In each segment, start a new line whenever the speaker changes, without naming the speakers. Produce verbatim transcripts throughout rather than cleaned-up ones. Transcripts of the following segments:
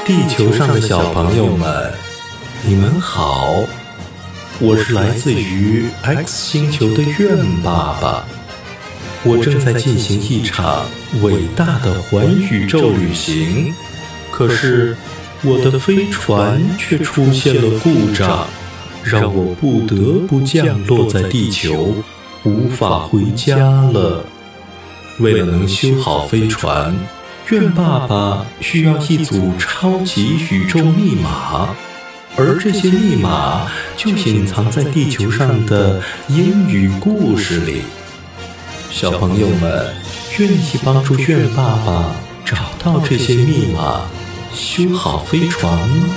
地球上的小朋友们，你们好，我是来自于 X 星球的愿爸爸。我正在进行一场伟大的环宇宙旅行，可是我的飞船却出现了故障，让我不得不降落在地球，无法回家了。为了能修好飞船，愿爸爸需要一组超级宇宙密码，而这些密码就隐藏在地球上的英语故事里。小朋友们愿意帮助愿爸爸找到这些密码，修好飞船吗？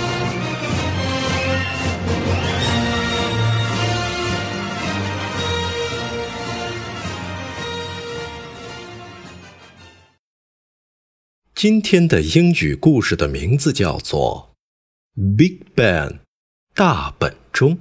今天的英语故事的名字叫做 Big Ben 大本钟。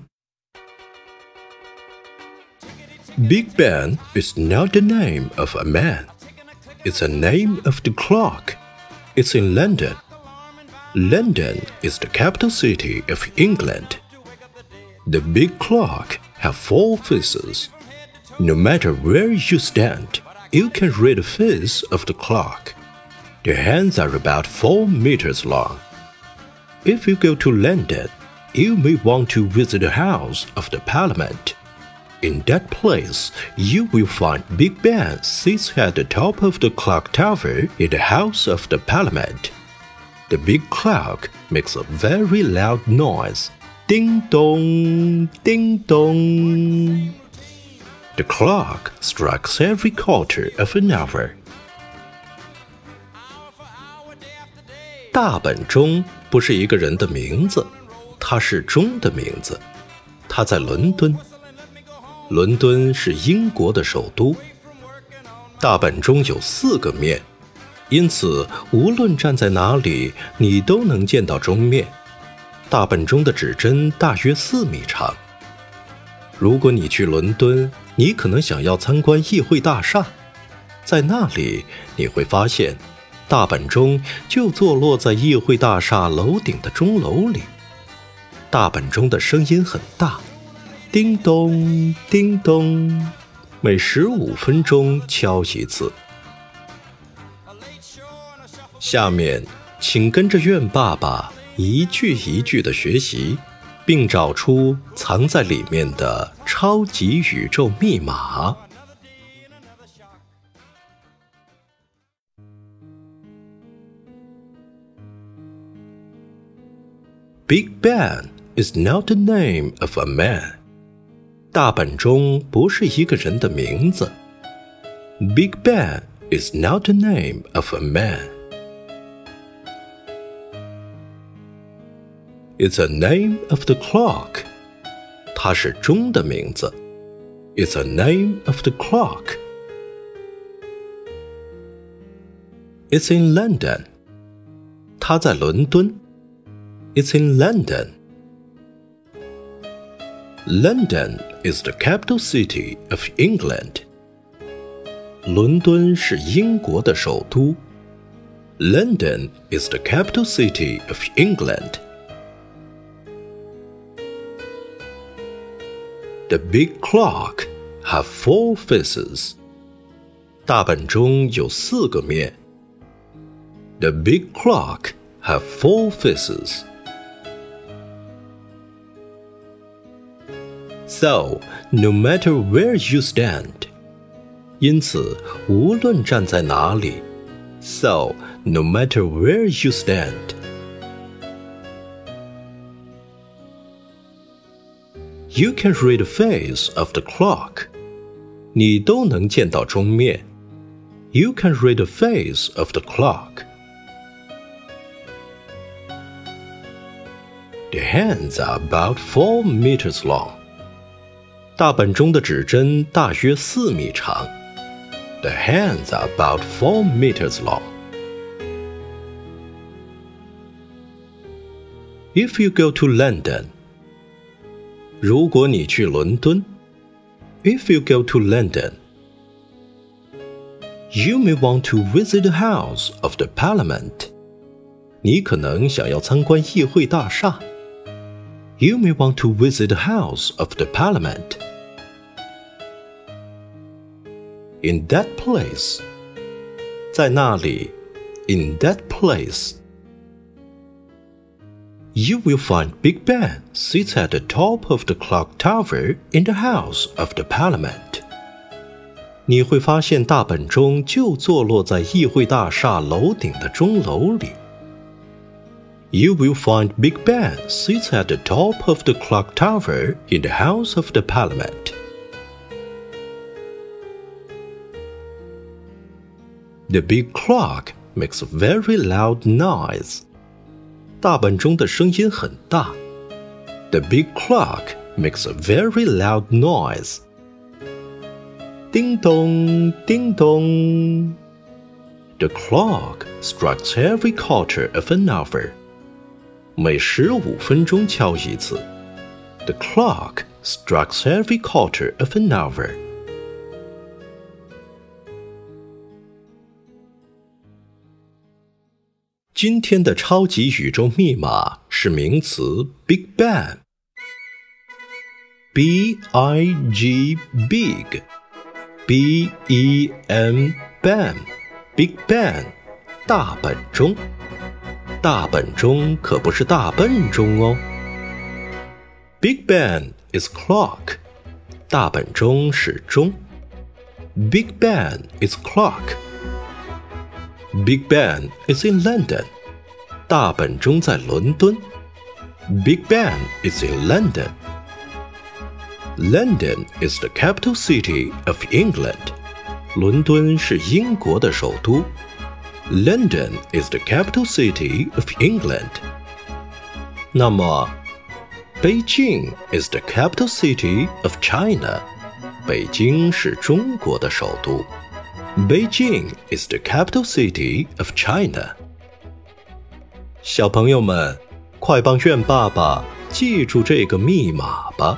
Big Ben is not the name of a man. It's a name of the clock. It's in London. London is the capital city of England. The big clock has four faces. No matter where you stand, you can read the face of the clock.The hands are about four meters long. If you go to London, you may want to visit the House of the Parliament. In that place, you will find Big Ben sits at the top of the clock tower in the House of the Parliament. The big clock makes a very loud noise. Ding dong, ding dong. The clock strikes every quarter of an hour.大本钟不是一个人的名字，它是钟的名字。它在伦敦，伦敦是英国的首都。大本钟有四个面，因此无论站在哪里，你都能见到钟面。大本钟的指针大约四米长。如果你去伦敦，你可能想要参观议会大厦，在那里你会发现大本钟就坐落在议会大厦楼顶的钟楼里。大本钟的声音很大，叮咚叮咚，每十五分钟敲一次。下面请跟着愿爸爸一句一句地学习，并找出藏在里面的超级宇宙密码。Big Ben is not the name of a man. 大本钟不是一个人的名字。Big Ben is not the name of a man. It's a name of the clock. 它是钟的名字。It's a name of the clock. It's in London. 它在伦敦。It's in London. London is the capital city of England. 伦敦是英国的首都。London is the capital city of England. The big clock has four faces. 大本钟有四个面。The big clock has four faces.So, no matter where you stand. 因此，无论站在哪里。So, no matter where you stand. You can read the face of the clock. 你都能见到钟面。You can read the face of the clock.The hands are about four meters long. 大本钟的指针大约四米长。The hands are about four meters long. If you go to London. 如果你去伦敦。If you go to London. You may want to visit the House of the Parliament. 你可能想要参观议会大厦。You may want to visit the House of the Parliament. In that place. 在那里 In that place. You will find Big Ben sits at the top of the clock tower in the House of the Parliament. 你会发现大本钟就坐落在议会大厦楼顶的钟楼里。You will find Big Ben sits at the top of the clock tower in the House of the Parliament. The big clock makes a very loud noise. 大本钟的声音很大。The big clock makes a very loud noise. 叮咚，叮咚。The clock strikes every quarter of an hour. 每十五分钟敲一次。The clock strikes every quarter of an hour. 今天的超级宇宙密码是名词 Big Bang. B I G Big B E N Bang Big Bang 大本钟。大本钟可不是大笨钟哦。Big Bang is clock. 大本钟是钟。Big Bang is clock.Big Ben is in London. 大本钟在伦敦。Big Ben is in London. London is the capital city of England. 伦敦是英国的首都。London is the capital city of England. 那么，北京 is the capital city of China. 北京是中国的首都。Beijing is the capital city of China. 小朋友们，快帮愿爸爸记住这个密码吧。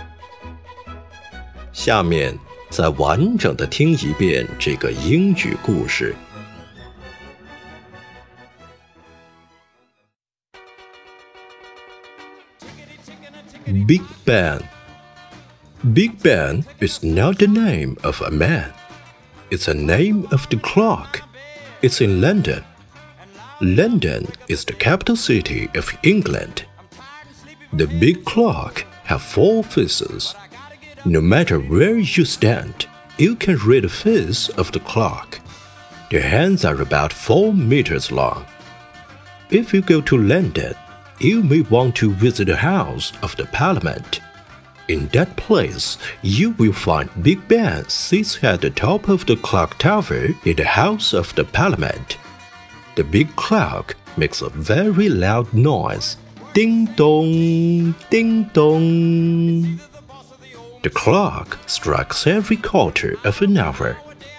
下面再完整的听一遍这个英语故事。Big Ben. Big Ben is not the name of a man.It's a name of the clock. It's in London. London is the capital city of England. The big clock has four faces. No matter where you stand, you can read the face of the clock. The hands are about four meters long. If you go to London, you may want to visit the House of the Parliament.In that place, you will find Big Ben sits at the top of the clock tower in the House of the Parliament. The big clock makes a very loud noise. Ding dong, ding dong. The clock strikes every quarter of an hour.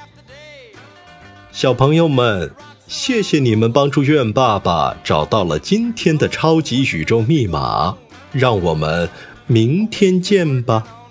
小朋友们，谢谢你们帮助愿爸爸找到了今天的超级宇宙密码，让我们明天见吧。